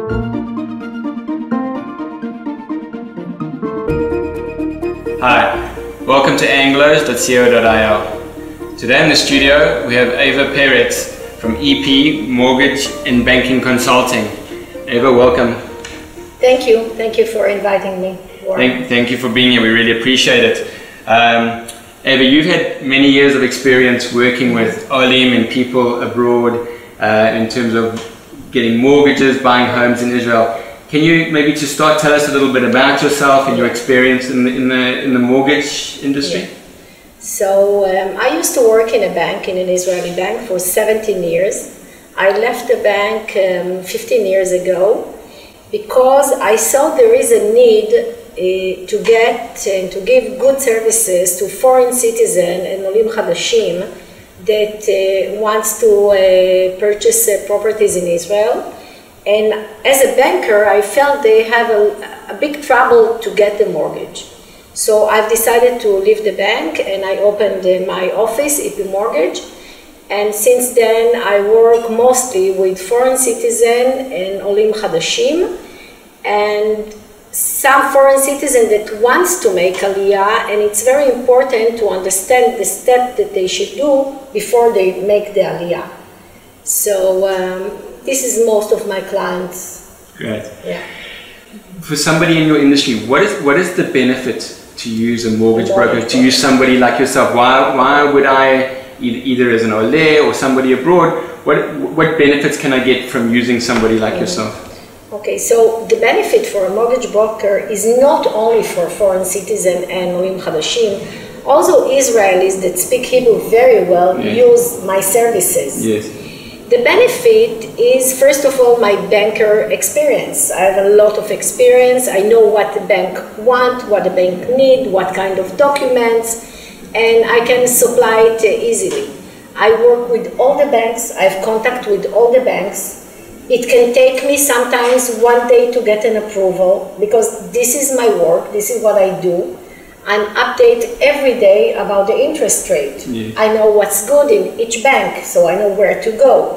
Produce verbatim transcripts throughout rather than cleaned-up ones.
Hi, welcome to anglos dot co dot i l. Today in the studio we have Eva Peretz from E P Mortgage and Banking Consulting. Eva, welcome. Thank you. Thank you for inviting me. Thank, thank you for being here. We really appreciate it. Um, Eva, you've had many years of experience working with Olim and people abroad uh, in terms of getting mortgages, buying homes in Israel. Can you maybe to start tell us a little bit about yourself and your experience in the in the, in the mortgage industry? Yeah. So um, I used to work in a bank, in an Israeli bank, for seventeen years. I left the bank um, fifteen years ago because I saw there is a need uh, to get and to give good services to foreign citizens and Olim Hadashim that uh, wants to uh, purchase uh, properties in Israel. And as a banker, I felt they have a, a big trouble to get the mortgage. So I've decided to leave the bank and I opened uh, my office, E P Mortgage. And since then, I work mostly with foreign citizens and Olim Hadashim, and some foreign citizen that wants to make Aliyah, and it's very important to understand the step that they should do before they make the Aliyah. So um, this is most of my clients. Great. Yeah. For somebody in your industry, what is what is the benefit to use a mortgage A broker, mortgage to use somebody like yourself? Why why would I, either as an Ole or somebody abroad, what what benefits can I get from using somebody like mm-hmm. yourself? Okay, so the benefit for a mortgage broker is not only for foreign citizens and Olim Hadashim, also Israelis that speak Hebrew very well yeah. use my services. Yes. The benefit is, first of all, my banker experience. I have a lot of experience. I know what the bank want, what the bank need, what kind of documents, and I can supply it easily. I work with all the banks. I have contact with all the banks. It can take me sometimes one day to get an approval because this is my work, this is what I do. I update every day about the interest rate. Yeah. I know what's good in each bank, so I know where to go.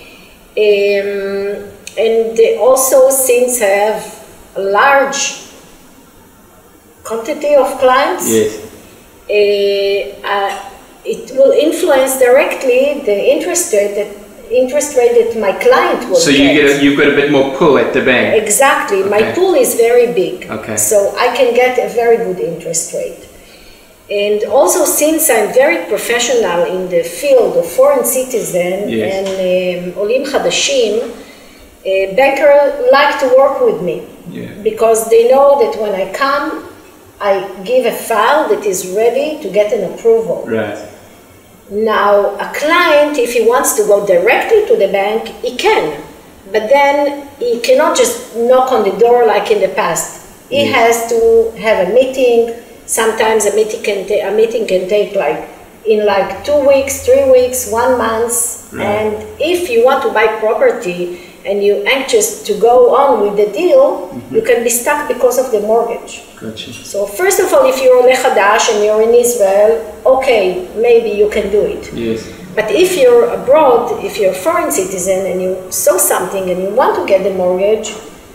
Um, and also, since I have a large quantity of clients, yes. uh, uh, it will influence directly the interest rate that interest rate that my client will so you get. get a, you've got a bit more pull at the bank. Exactly. Okay. My pool is very big. Okay. So I can get a very good interest rate. And also, since I'm very professional in the field of foreign citizen yes. and um, Olim Hadashim, uh, bankers like to work with me yeah. because they know that when I come, I give a file that is ready to get an approval. Right. Now, a client, if he wants to go directly to the bank, he can. But then he cannot just knock on the door like in the past. He yes. has to have a meeting. Sometimes a meeting can ta- a meeting can take like in like two weeks, three weeks, one month. Right. And if you want to buy property and you're anxious to go on with the deal, mm-hmm. you can be stuck because of the mortgage. Gotcha. So first of all, if you're Ole Hadash and you're in Israel, okay, maybe you can do it. Yes. But if you're abroad, if you're a foreign citizen and you saw something and you want to get the mortgage,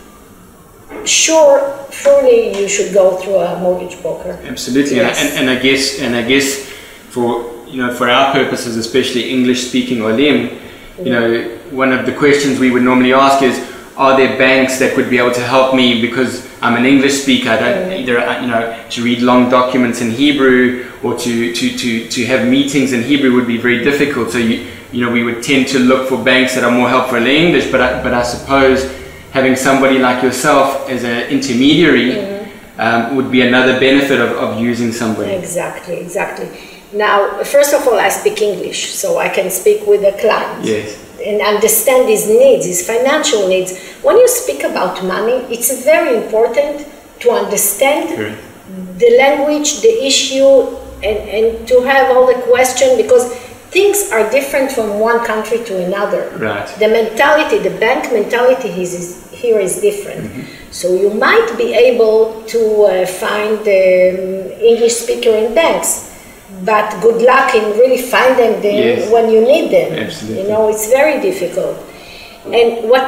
sure, surely you should go through a mortgage broker. Absolutely, yes. and, and I guess, and I guess, for you know, for our purposes, especially English-speaking Olim, you know, one of the questions we would normally ask is, are there banks that would be able to help me because I'm an English speaker? I don't mm. either, you know, to read long documents in Hebrew or to, to, to, to have meetings in Hebrew would be very difficult. So you you know we would tend to look for banks that are more helpful in English. But I, but I suppose having somebody like yourself as an intermediary mm. um, would be another benefit of, of using somebody. Exactly, exactly. Now, first of all, I speak English, so I can speak with the client. Yes. And understand his needs, his financial needs. When you speak about money, it's very important to understand sure. the language, the issue, and, and to have all the questions, because things are different from one country to another. Right. The mentality, the bank mentality is, is, here is different. Mm-hmm. So you might be able to uh, find um, English speaker in banks. But good luck in really finding them yes. when you need them. Absolutely. You know, it's very difficult. And what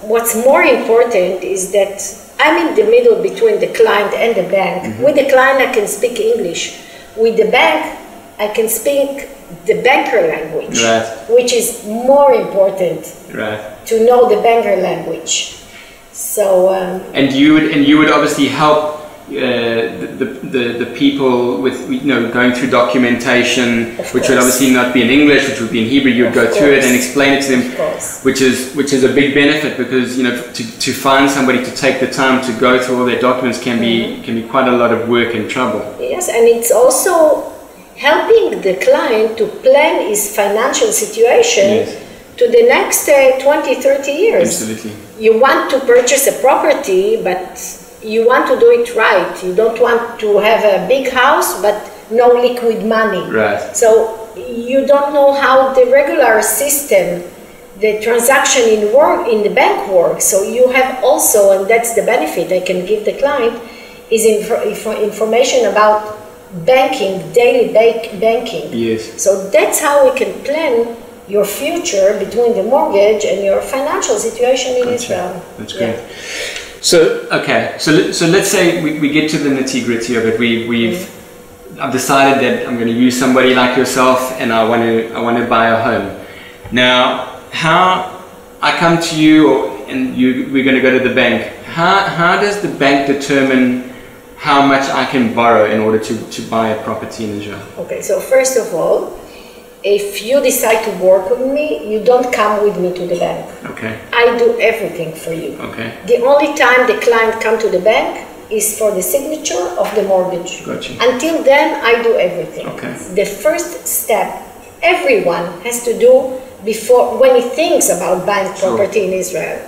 what's more important is that I'm in the middle between the client and the bank. Mm-hmm. With the client, I can speak English. With the bank, I can speak the banker language, right. which is more important right. to know the banker language. So um, and you would and you would obviously help uh, the, the the people with, you know, going through documentation, which would obviously not be in English, which would be in Hebrew. You'd go through it and explain it to them, which is which is a big benefit, because, you know, to, to find somebody to take the time to go through all their documents can be mm-hmm. can be quite a lot of work and trouble. Yes, and it's also helping the client to plan his financial situation. Yes. To the next uh, twenty, thirty years. Absolutely. You want to purchase a property, but you want to do it right. You don't want to have a big house, but no liquid money. Right. So you don't know how the regular system, the transaction in work in the bank works. So you have also, and that's the benefit I can give the client, is inf- information about banking, daily bank- banking. Yes. So that's how we can plan your future between the mortgage and your financial situation in gotcha. Israel. That's great. Yeah. So, okay, so so let's say we, we get to the nitty gritty of it. We we've mm. I've decided that I'm going to use somebody like yourself, and I want to I want to buy a home. Now, how I come to you, or, and you we're going to go to the bank. How how does the bank determine how much I can borrow in order to, to buy a property in Israel? Okay, so first of all, if you decide to work with me, you don't come with me to the bank. Okay. I do everything for you. Okay. The only time the client come to the bank is for the signature of the mortgage. Gotcha. Until then, I do everything. Okay. The first step everyone has to do before, when he thinks about buying property sure. in Israel.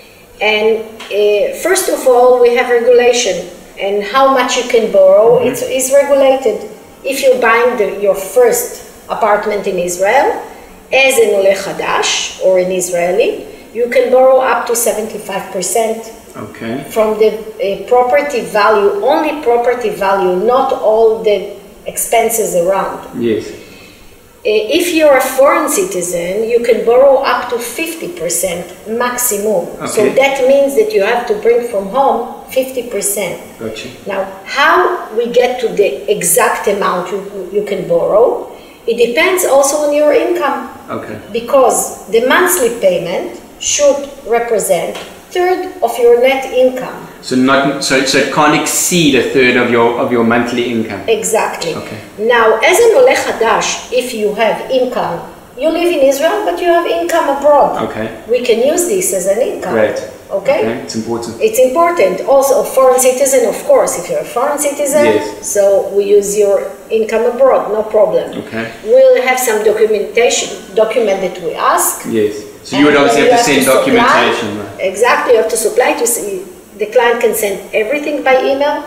And uh, first of all, we have regulation, and how much you can borrow. Mm-hmm. It's, it's regulated. If you're buying the, your first apartment in Israel, as an Oleh Hadash or an Israeli, you can borrow up to seventy-five percent okay. from the uh, property value, only property value, not all the expenses around. Yes. Uh, if you're a foreign citizen, you can borrow up to fifty percent maximum. Okay. So that means that you have to bring from home fifty percent. Gotcha. Now, how we get to the exact amount you, you can borrow, it depends also on your income. Okay. Because the monthly payment should represent third of your net income. So not so so it can't exceed a third of your of your monthly income. Exactly. Okay. Now, as an Oleh Hadash, if you have income, you live in Israel, but you have income abroad. Okay. We can use this as an income. Right. Okay? Okay, it's important. It's important. Also, a foreign citizen, of course, if you're a foreign citizen, yes. so we use your income abroad, no problem. Okay. We'll have some documentation, document that we ask. Yes. So you would obviously have to send have to documentation. Supply, right? Exactly, you have to supply to see, the client can send everything by email.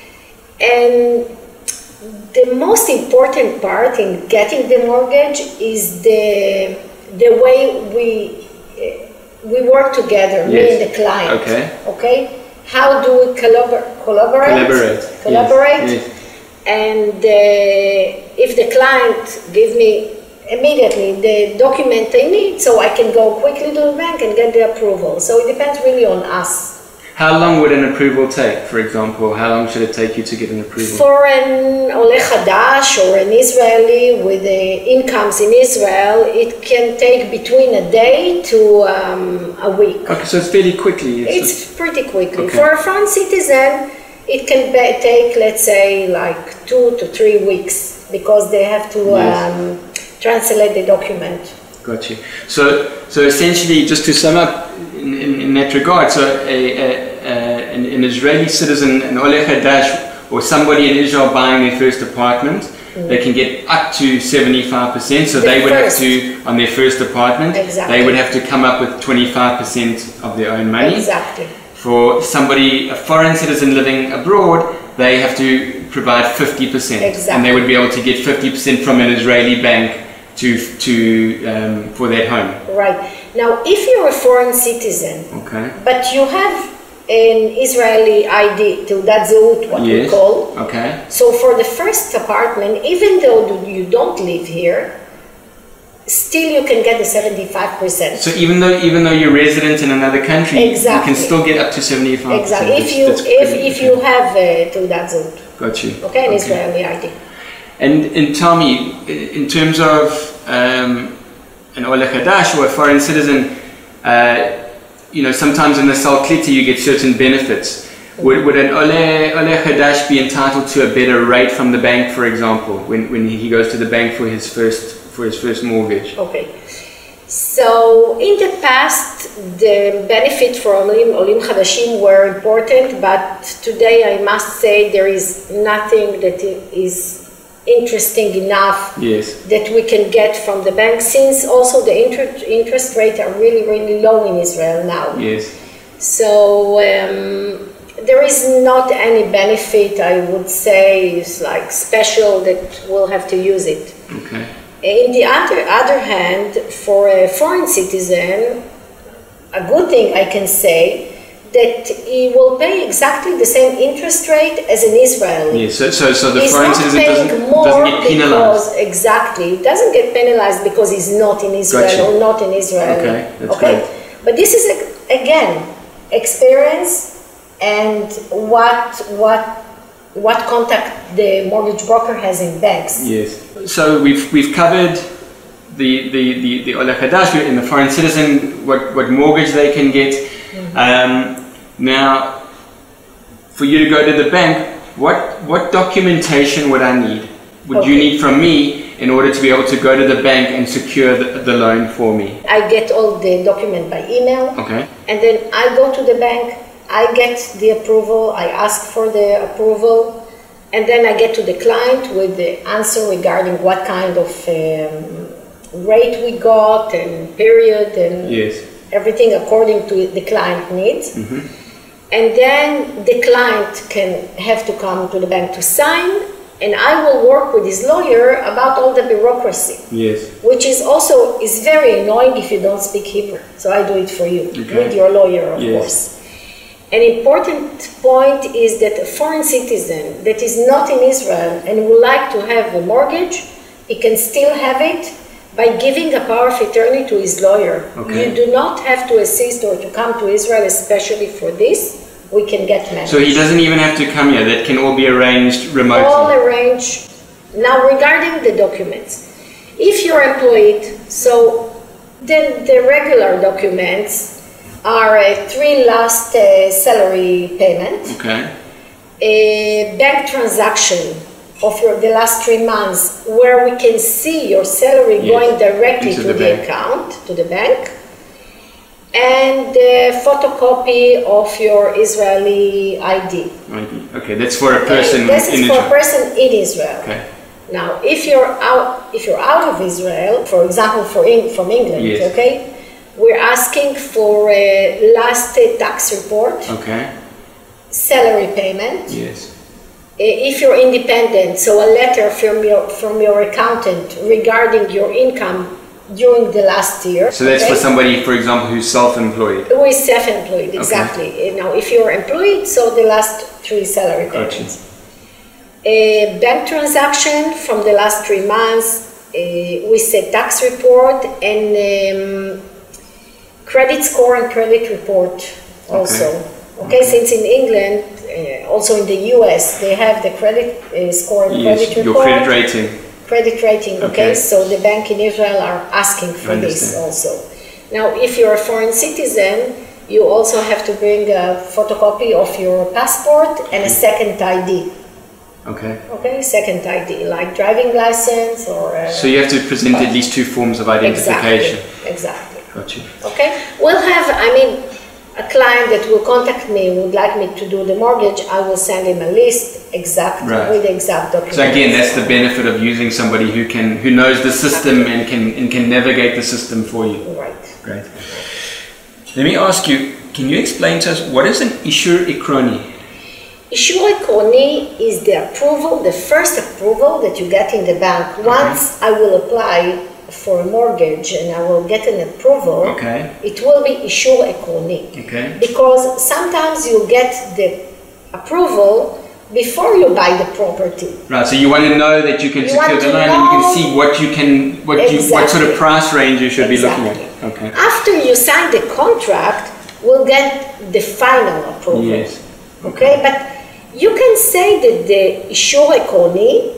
And the most important part in getting the mortgage is the the way we we work together, yes. me and the client. Okay. Okay. How do we collabor- collaborate? Collaborate. Collaborate. Yes. Yes. And uh, if the client gives me immediately the document I need, so I can go quickly to the bank and get the approval. So it depends really on us. How long would an approval take, for example? How long should it take you to get an approval? For an Oleh Hadash or an Israeli with the incomes in Israel, it can take between a day to um, a week. Okay, so it's fairly quickly. It's, it's pretty quickly. Okay. For a foreign citizen, it can be, take, let's say, like two to three weeks, because they have to yes. um, translate the document. Got you. So, so essentially, just to sum up in, in, in that regard, so a, a, a, an, an Israeli citizen, an Oleh Hadash, or somebody in Israel buying their first apartment, mm. they can get up to seventy-five percent. So the they would first. have to, on their first apartment, exactly. they would have to come up with twenty-five percent of their own money. Exactly. For somebody, a foreign citizen living abroad, they have to provide fifty percent. Exactly. And they would be able to get fifty percent from an Israeli bank to to um, for that home. Right. Now, if you're a foreign citizen, okay, but you have an Israeli I D, Teudat Zehut, what yes. we call. Okay. So for the first apartment, even though you don't live here, still you can get the seventy-five percent. So even though even though you're resident in another country, exactly. you can still get up to seventy-five percent. Exactly. If you if if you have uh, Teudat Zehut. Got you. Okay, an okay. Israeli I D. And and tell me, in terms of um, an Ole Chadash or a foreign citizen, uh, you know, sometimes in the Sal Klita you get certain benefits. Mm-hmm. Would, would an Ole, Ole Chadash be entitled to a better rate from the bank, for example, when, when he goes to the bank for his first for his first mortgage? Okay. So in the past, the benefit for Olim, Olim Chadashim were important, but today I must say there is nothing that is interesting enough yes. that we can get from the bank, since also the interest interest rates are really, really low in Israel now. Yes. So um, there is not any benefit, I would say, is like special that we'll have to use it. Okay. In the other, other hand, for a foreign citizen, a good thing I can say, that he will pay exactly the same interest rate as an Israeli. Yes, so, so, so the he's foreign not citizen paying doesn't, more doesn't get penalized. Because, exactly, he doesn't get penalized because he's not in Israel gotcha. or not in Israel. Okay, that's okay? great. But this is, again, experience and what, what, what contact the mortgage broker has in banks. Yes. So we've we've covered the the the, the Ole Chadash in the foreign citizen, what, what mortgage they can get. Mm-hmm. Um, now, for you to go to the bank, what what documentation would I need? Would okay. you need from me in order to be able to go to the bank and secure the, the loan for me? I get all the document by email. Okay. And then I go to the bank, I get the approval, I ask for the approval. And then I get to the client with the answer regarding what kind of um, rate we got and period and yes. everything according to the client needs. Mm-hmm. And then the client can have to come to the bank to sign, and I will work with his lawyer about all the bureaucracy. Yes. Which is also is very annoying if you don't speak Hebrew. So I do it for you okay. with your lawyer, of yes. course. An important point is that a foreign citizen that is not in Israel and would like to have a mortgage, he can still have it by giving a power of attorney to his lawyer. Okay. You do not have to assist or to come to Israel especially for this. We can get managed. So he doesn't even have to come here. That can all be arranged remotely. All arranged. Now regarding the documents, if you're employed, so then the regular documents are uh, three last uh, salary payment, okay. a bank transaction of your the last three months where we can see your salary yes. going directly Into to the, the account, to the bank, and a photocopy of your Israeli I D. I D. Okay, that's for a person okay. This in is Israel. for a person in Israel. Okay. Now, if you're out, if you're out of Israel, for example, for in, from England, yes. okay, we're asking for a last tax report, okay, salary payment. Yes. If you're independent, so a letter from your from your accountant regarding your income during the last year. So that's okay? for somebody, for example, who's self-employed. Who is self-employed, exactly. Okay. Now, if you're employed, so the last three salary payments. Gotcha. A bank transaction from the last three months, uh, we say tax report and um, credit score and credit report also. Okay, okay? okay. Since in England, uh, also in the U S, they have the credit uh, score and yes, credit report. Your credit rating. Credit rating, okay? okay? So the bank in Israel are asking for this also. Now, if you're a foreign citizen, you also have to bring a photocopy of your passport and a second I D. Okay. Okay, second I D, like driving license or... Uh, so you have to present at least two forms of identification. Exactly, exactly. Got you. Okay, we'll have, I mean, a client that will contact me, would like me to do the mortgage, I will send him a list exact right. with the exact documents. So again, that's the benefit of using somebody who can who knows the system and can and can navigate the system for you. Right. Great. Let me ask you, can you explain to us what is an Ishur Ikroni? Ishur Ikroni is the approval, the first approval that you get in the bank. Once okay. I will apply for a mortgage and I will get an approval, okay. it will be Ishur Ikroni. Okay. Because sometimes you get the approval before you buy the property. Right, so you want to know that you can You secure want the to loan and you can know- see what you can, what you, what sort of Exactly. price range you should Exactly. be looking at. Okay. After you sign the contract, we'll get the final approval. Yes. Okay, but you can say that the אישור עקרוני,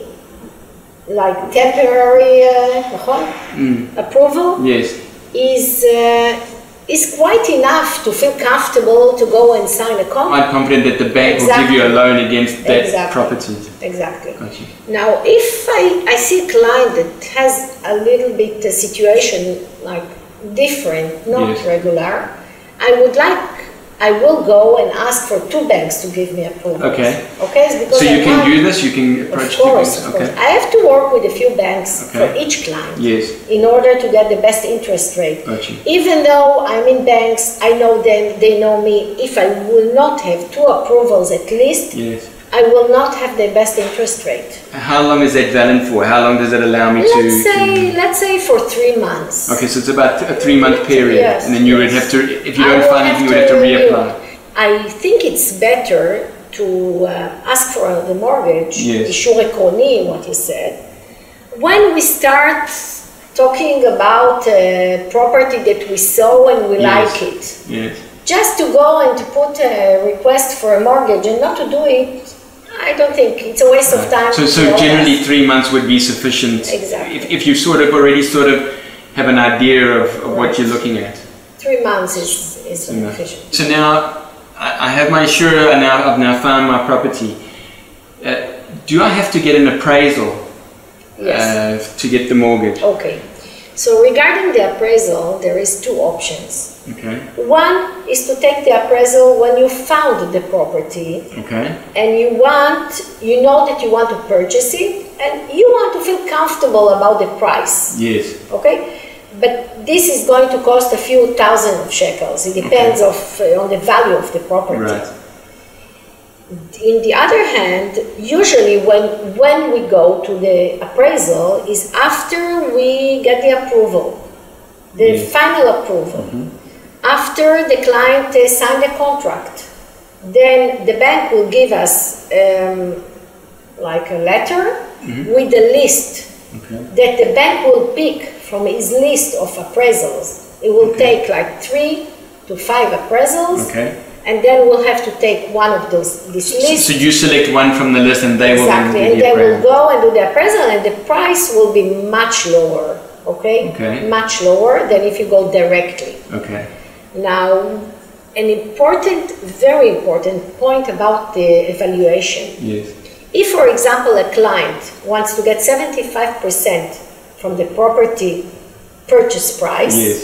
like temporary uh, Mm. approval, Yes. is uh, is quite enough to feel comfortable to go and sign a contract. I'm confident that the bank will give you a Exactly. loan against that Exactly. property. Exactly. Got you. Now, if I, I see a client that has a little bit a situation like different, not Yes. regular, I would like, I will go and ask for two banks to give me approval. Okay. Okay, it's because So you I can want- do this, you can approach Of two course, banks. of Okay. course. I have to work with a few banks Okay. for each client Yes. in order to get the best interest rate. Got you. Even though I'm in banks, I know them, they know me. If I will not have two approvals at least, Yes. I will not have the best interest rate. How long is that valid for? How long does it allow me to? Let's say, to- let's say for three months. Okay, so it's about a three month period, Yes, and then you would yes. have to, if you I don't will find have anything, you would have to renew. reapply. I think it's better to uh, ask for the mortgage, Yes. אישור עקרוני, what you said, when we start talking about uh, property that we saw and we Yes. like it. Yes. Just to go and to put a request for a mortgage and not to do it, I don't think it's a waste of time. So, so for all generally us. three months would be sufficient. Exactly. If, if you sort of already sort of have an idea of, of what Right. you're looking at. Three months is, is Enough. sufficient. So now I, I have my insurer, and now I've now found my property. Uh, do I have to get an appraisal Yes. uh, to get the mortgage? Okay. So regarding the appraisal, there is two options. Okay. One is to take the appraisal when you found the property Okay. and you want, you know that you want to purchase it and you want to feel comfortable about the price. Yes. Okay? But this is going to cost a few thousand of shekels. It depends of, uh, on the value of the property. Right. In the other hand, usually when, when we go to the appraisal is after we get the approval, the Yes. final approval. After the client uh, signed the contract, then the bank will give us um, like a letter with the list Okay. that the bank will pick from his list of appraisals. It will Okay. take like three to five appraisals. Okay. And then we'll have to take one of those, this list. So you select one from the list, and they will then Exactly, do and the they will appraisal. go and do the appraisal, and the price will be much lower, okay? Okay. Much lower than if you go directly. Okay. Now, an important, very important point about the evaluation. Yes. If, for example, a client wants to get seventy-five percent from the property purchase price, Yes.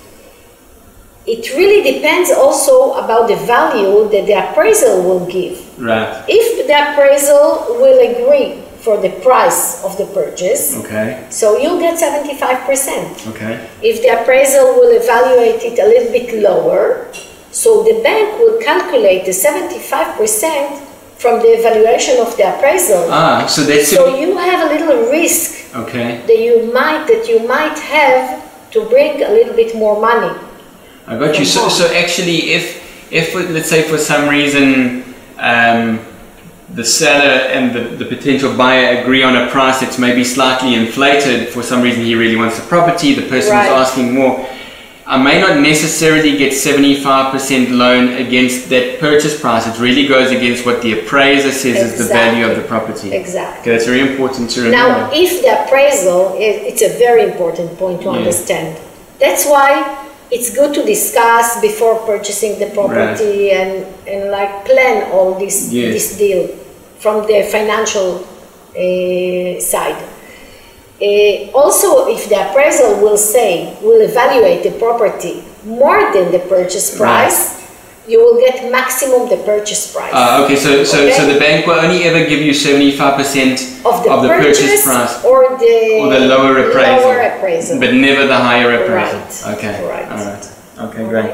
it really depends also about the value that the appraisal will give. Right. If the appraisal will agree for the price of the purchase, Okay. so you'll get seventy-five percent. Okay. If the appraisal will evaluate it a little bit lower, so the bank will calculate the seventy-five percent from the evaluation of the appraisal. Ah, so that's So you have a little risk okay. that you might that you might have to bring a little bit more money. I got you. So, so actually, if if let's say for some reason um, the seller and the, the potential buyer agree on a price that's maybe slightly inflated, for some reason he really wants the property, the person Right. is asking more, I may not necessarily get seventy-five percent loan against that purchase price. It really goes against what the appraiser says is the value of the property. Exactly. Okay, that's very important to remember. Now, if the appraisal, i- it's a very important point to Yeah. understand. That's why it's good to discuss before purchasing the property and, and like plan all this, Yes. this deal from the financial uh, side. Uh, also, if the appraisal will say, will evaluate the property more than the purchase price, you will get maximum the purchase price. Uh, okay, so so Okay? so the bank will only ever give you seventy-five percent of the, of the purchase, purchase price, or the, or the lower appraisal, lower appraisal. but never the higher appraisal. Right. Okay, Right. all right. Okay, great.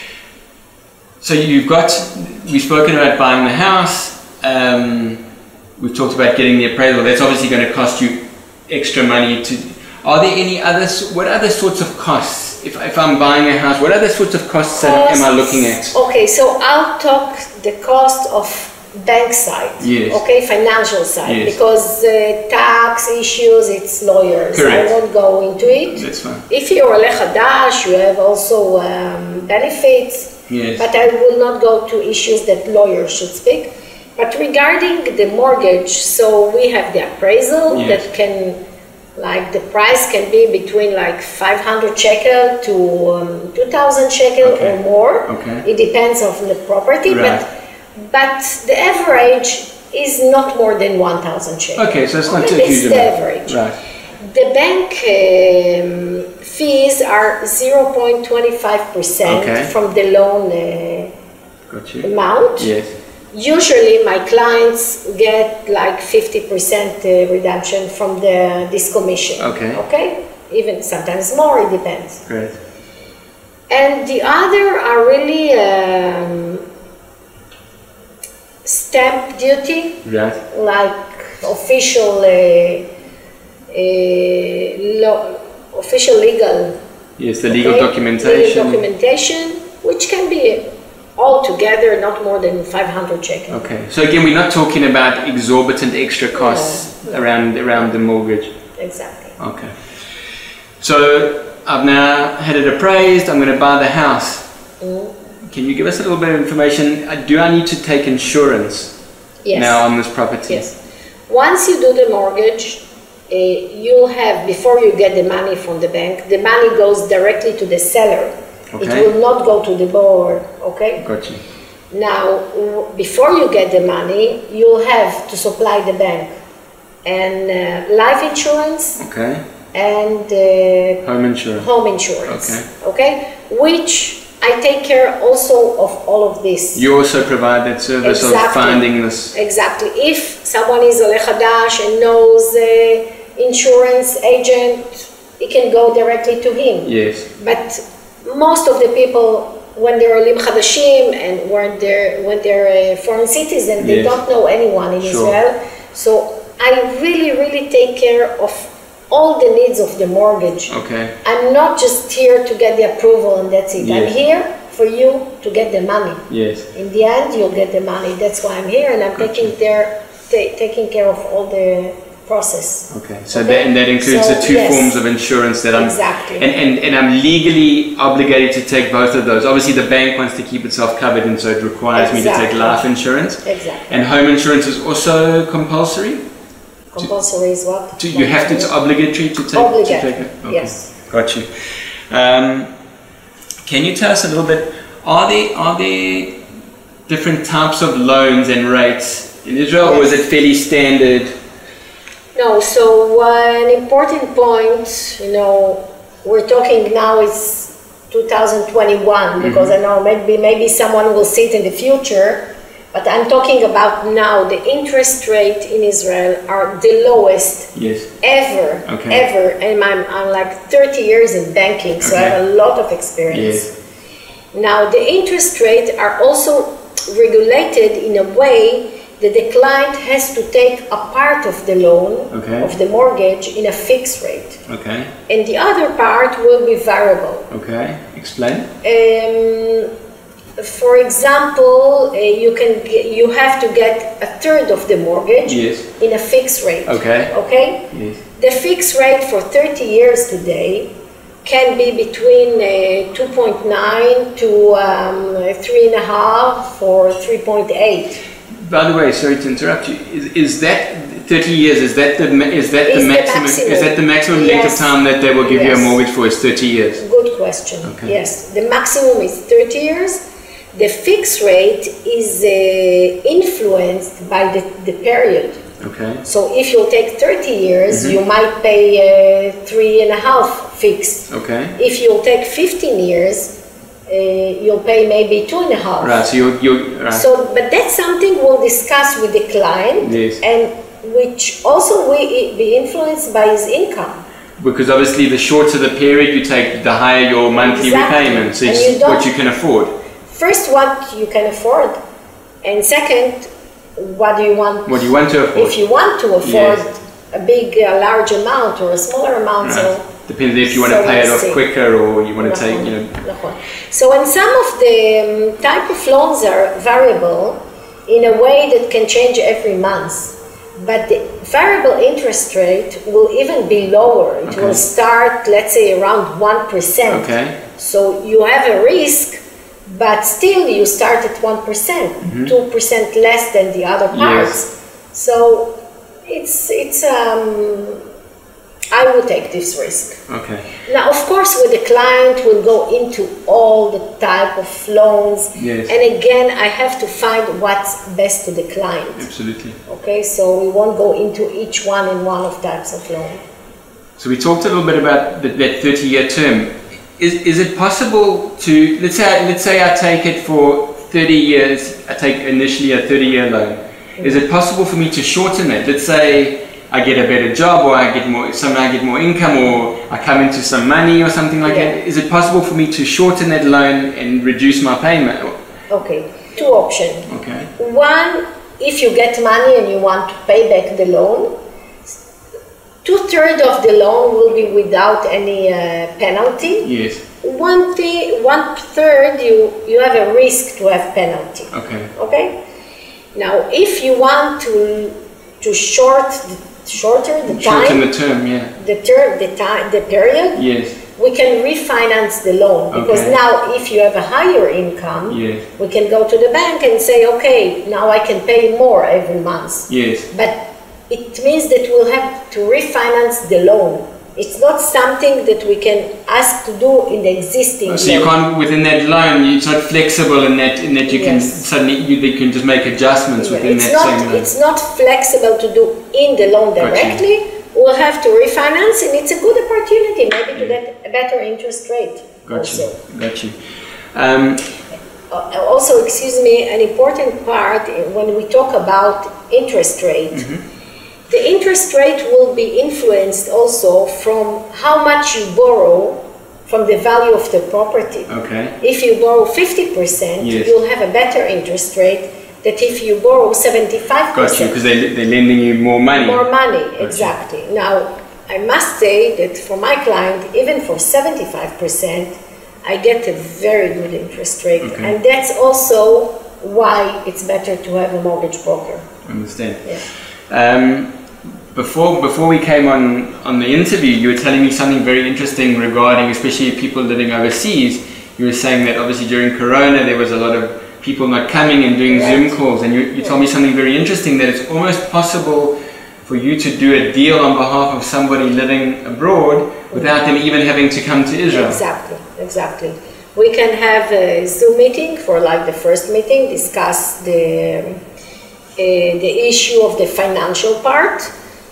So you've got, we've spoken about buying the house. Um, we've talked about getting the appraisal. That's obviously going to cost you extra money. To, are there any other? s- What other sorts of costs? If if I'm buying a house, what other sorts of costs am- am I looking at? Okay, so I'll talk the cost of bank side, yes. okay, financial side, yes. because uh, tax issues, it's lawyers. Correct. I won't go into it. That's fine. If you're Oleh Hadash, you have also um, benefits, yes. but I will not go to issues that lawyers should speak. But regarding the mortgage, so we have the appraisal yes. that can, like the price can be between like five hundred shekel to um, two thousand shekel okay. or more. Okay. It depends on the property, right. but but the average is not more than one thousand shekel. Okay, so it's not too huge. It's the average. Right. The bank um, fees are zero point two five percent okay. from the loan uh, Got you. amount. Yes. Usually my clients get like fifty percent uh, redemption from the, this commission. Okay. Okay? Even sometimes more, it depends. Great. And the other are really um, stamp duty, right. like official, uh, uh, lo official legal. Yes, the legal okay? documentation. Legal documentation, which can be altogether not more than five hundred shekel. Okay, so again, we're not talking about exorbitant extra costs no, no. around around the mortgage. Exactly. Okay. So I've now had it appraised. I'm going to buy the house. Mm. Can you give us a little bit of information? Do I need to take insurance yes. now on this property? Yes. Once you do the mortgage, uh, you'll have, before you get the money from the bank, the money goes directly to the seller. Okay. It will not go to the borrower, okay? Got you. Now, before you get the money, you'll have to supply the bank and uh, life insurance okay. and uh, home insurance. Home insurance, okay. okay? Which I take care also of all of this. You also provide that service exactly. of finding this. Exactly. If someone is Oleh Hadash and knows an insurance agent, it can go directly to him. Yes. But most of the people, when they're Olim Hadashim and when they're, when they're a foreign citizen, they yes. don't know anyone in sure. Israel. So I really, really take care of all the needs of the mortgage. Okay. I'm not just here to get the approval and that's it. Yes. I'm here for you to get the money. Yes. In the end, you'll get the money. That's why I'm here, and I'm gotcha. taking there, ta taking care of all the process. Okay. So okay? that and that includes so, the two yes. forms of insurance that I'm exactly. and, and and I'm legally obligated to take both of those. Obviously, the bank wants to keep itself covered, and so it requires exactly. me to take life insurance. Exactly. And home insurance is also compulsory. Compulsory is what? To, you have to, it's obligatory to take, obligatory. to take it? Okay. Yes. Got you. Um, can you tell us a little bit, are there, are there different types of loans and rates in Israel, yes. or is it fairly standard? No, so uh, an important point, you know, we're talking now is two thousand twenty-one, because mm-hmm. I know maybe, maybe someone will see it in the future. But I'm talking about now, the interest rate in Israel are the lowest yes. ever, okay. ever. And I'm, I'm like thirty years in banking, so okay. I have a lot of experience. Yes. Now, the interest rates are also regulated in a way that the client has to take a part of the loan, okay. of the mortgage, in a fixed rate. Okay. And the other part will be variable. Okay, explain. Um, For example, uh, you can get, you have to get a third of the mortgage yes. in a fixed rate. Okay. Okay. Yes. The fixed rate for thirty years today can be between uh, two point nine to um, three and a half or three point eight. By the way, sorry to interrupt you. Is, is that thirty years? Is that the is that is the, maximum, the maximum? Is that the maximum yes. length of time that they will give yes. you a mortgage for? Is thirty years? Good question. Okay. Yes, the maximum is thirty years. The fixed rate is uh, influenced by the, the period. Okay. So if you take thirty years, mm-hmm. you might pay uh, three and a half fixed. Okay. If you take fifteen years, uh, you'll pay maybe two and a half. Right. So you you. Right. So, but that's something we'll discuss with the client, yes. and which also will be influenced by his income. Because obviously, the shorter the period you take, the higher your monthly exactly. repayment. So and it's you what you can afford. First, what you can afford, and second, what do you want? What do you want to afford? If you want to afford yes. a big, a large amount or a smaller amount, right. so depends if you want so to pay it off see. quicker or you want to take, you know. So when some of the um, type of loans are variable, in a way that can change every month. But the variable interest rate will even be lower. It Okay. will start, let's say, around one percent. Okay. So you have a risk, but still you start at one percent, Mm-hmm. two percent less than the other parts. So it's, it's um, I would take this risk. Okay. Now, of course, with the client, we'll go into all the type of loans. Yes. And again, I have to find what's best to the client. Absolutely. Okay, so we won't go into each one in one of types of loan. So we talked a little bit about the, that thirty-year term. Is is it possible to, let's say let's say I take it for thirty years. I take initially a thirty-year loan. Is it possible for me to shorten it? Let's say I get a better job, or I get more, somehow I get more income, or I come into some money or something like Yeah. that. Is it possible for me to shorten that loan and reduce my payment? Okay, two options. Okay. One, if you get money and you want to pay back the loan, two-thirds of the loan will be without any uh, penalty. Yes. One thing, one third, you, you have a risk to have penalty. Okay. Okay? Now, if you want to to short the, shorter the Shorten time, the term, yeah. the term, the time, the period, Yes. we can refinance the loan, because Okay. now if you have a higher income, Yes. we can go to the bank and say, okay, now I can pay more every month. Yes. But it means that we'll have to refinance the loan. It's not something that we can ask to do in the existing So you loan. can't, within that loan, it's not flexible in that in that you can Yes. suddenly you they can just make adjustments Yeah, within it's that not, same loan. it's not flexible to do in the loan Got you. directly. We'll have to refinance, and it's a good opportunity maybe to get a better interest rate. Got also. you. Got you. Um, Uh, also, excuse me, an important part uh, when we talk about interest rate, the interest rate will be influenced also from how much you borrow from the value of the property. okay. If you borrow fifty percent, Yes. you'll have a better interest rate than if you borrow seventy-five percent. Got you, because they they're lending you more money. More money, Gotcha. exactly. Now, I must say that for my client, even for seventy-five percent, I get a very good interest rate. Okay. And that's also why it's better to have a mortgage broker. Understand. Yeah. Um, before before we came on on the interview, you were telling me something very interesting regarding, especially people living overseas. You were saying that obviously during Corona there was a lot of people not coming and doing Right. Zoom calls, and you, you told me something very interesting, that it's almost possible for you to do a deal on behalf of somebody living abroad without them even having to come to Israel. Exactly, exactly. We can have a Zoom meeting for like the first meeting, discuss the, uh, the issue of the financial part.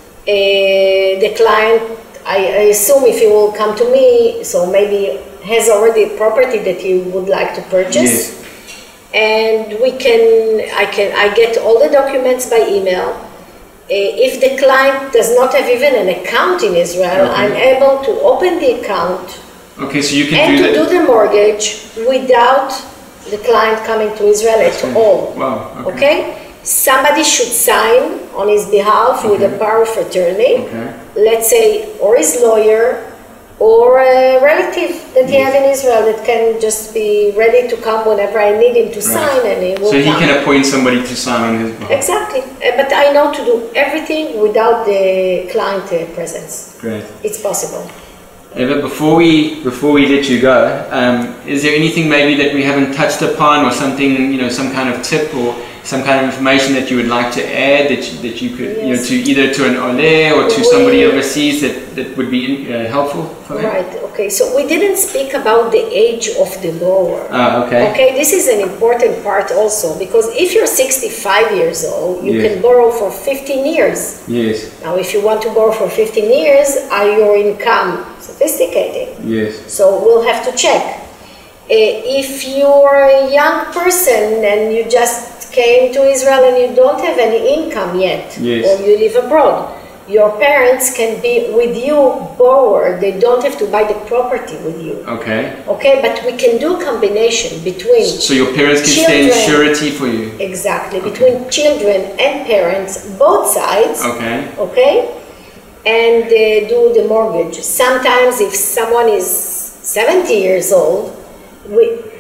Uh, the client, I, I assume if he will come to me, so maybe has already a property that he would like to purchase. Yes. And we can, I can, I get all the documents by email. Uh, if the client does not have even an account in Israel, Okay. I'm able to open the account Okay, so you can and do to that. do the mortgage without the client coming to Israel at all. Wow. Okay. Okay? Somebody should sign on his behalf with a Okay. power of attorney. Okay. Let's say, or his lawyer, or a relative that he has in Israel that can just be ready to come whenever I need him to sign, and he will So he come. can appoint somebody to sign on his behalf. Exactly. Uh, But I know to do everything without the client uh, presence. Great. It's possible. Eva, before we before we let you go, um, is there anything maybe that we haven't touched upon, or something, you know, some kind of tip or some kind of information that you would like to add that you, that you could, you know, Yes. to either to an ole or to We- somebody overseas that, that would be uh, helpful for them? Right. Okay. So we didn't speak about the age of the borrower. Ah, okay. Okay, this is an important part also, because if you're sixty-five years old, you Yes. can borrow for fifteen years. Yes. Now, if you want to borrow for fifteen years, are your income sophisticated? Yes. So we'll have to check. Uh, if you're a young person and you just came to Israel and you don't have any income yet, Yes. or you live abroad, your parents can be with you borrower. They don't have to buy the property with you. Okay. Okay, but we can do combination between So your parents can stand Children. surety for you. exactly between children and parents, both sides. Okay. Okay, and uh, do the mortgage. Sometimes, if someone is seventy years old, we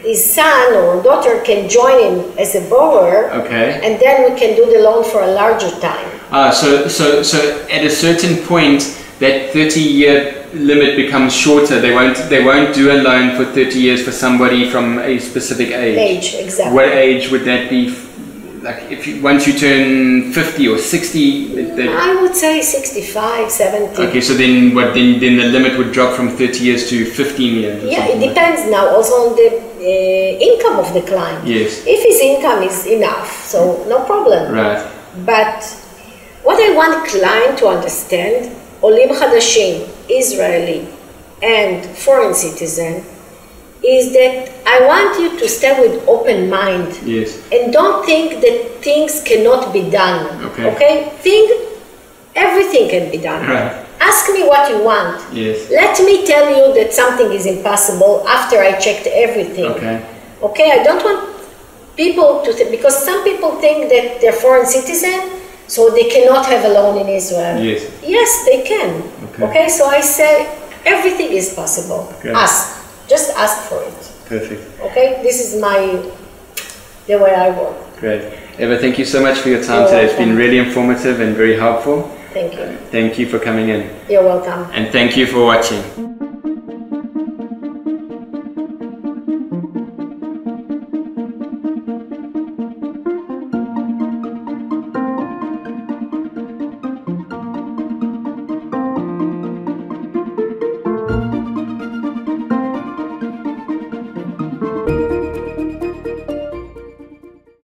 his son or daughter can join him as a borrower, Okay. and then we can do the loan for a larger time. Ah, so so so at a certain point, that thirty-year limit becomes shorter. They won't they won't do a loan for thirty years for somebody from a specific age. Age, exactly. What age would that be? Like if you, once you turn fifty or sixty, that, I would say sixty-five, seventy. okay, so then what? Then then the limit would drop from thirty years to fifteen years. or Yeah, it something like depends now also on the uh, income of the client. Yes. If his income is enough, so no problem. that. Right. But what I want client to understand, Olim Chadashim, Israeli and foreign citizen, is that I want you to stay with open mind. Yes. And don't think that things cannot be done. Okay. Okay? Think everything can be done. Right. Ask me what you want. Yes. Let me tell you that something is impossible after I checked everything. Okay. Okay, I don't want people to think, because some people think that they're foreign citizen, so they cannot have a loan in Israel. Yes. Yes, they can. Okay. Okay, so I say everything is possible. Okay. Ask. Just ask for it. Perfect. Okay, this is my, the way I work. Great. Eva, thank you so much for your time You're today. It's welcome. been really informative and very helpful. Thank you. Thank you for coming in. You're welcome. And thank you for watching.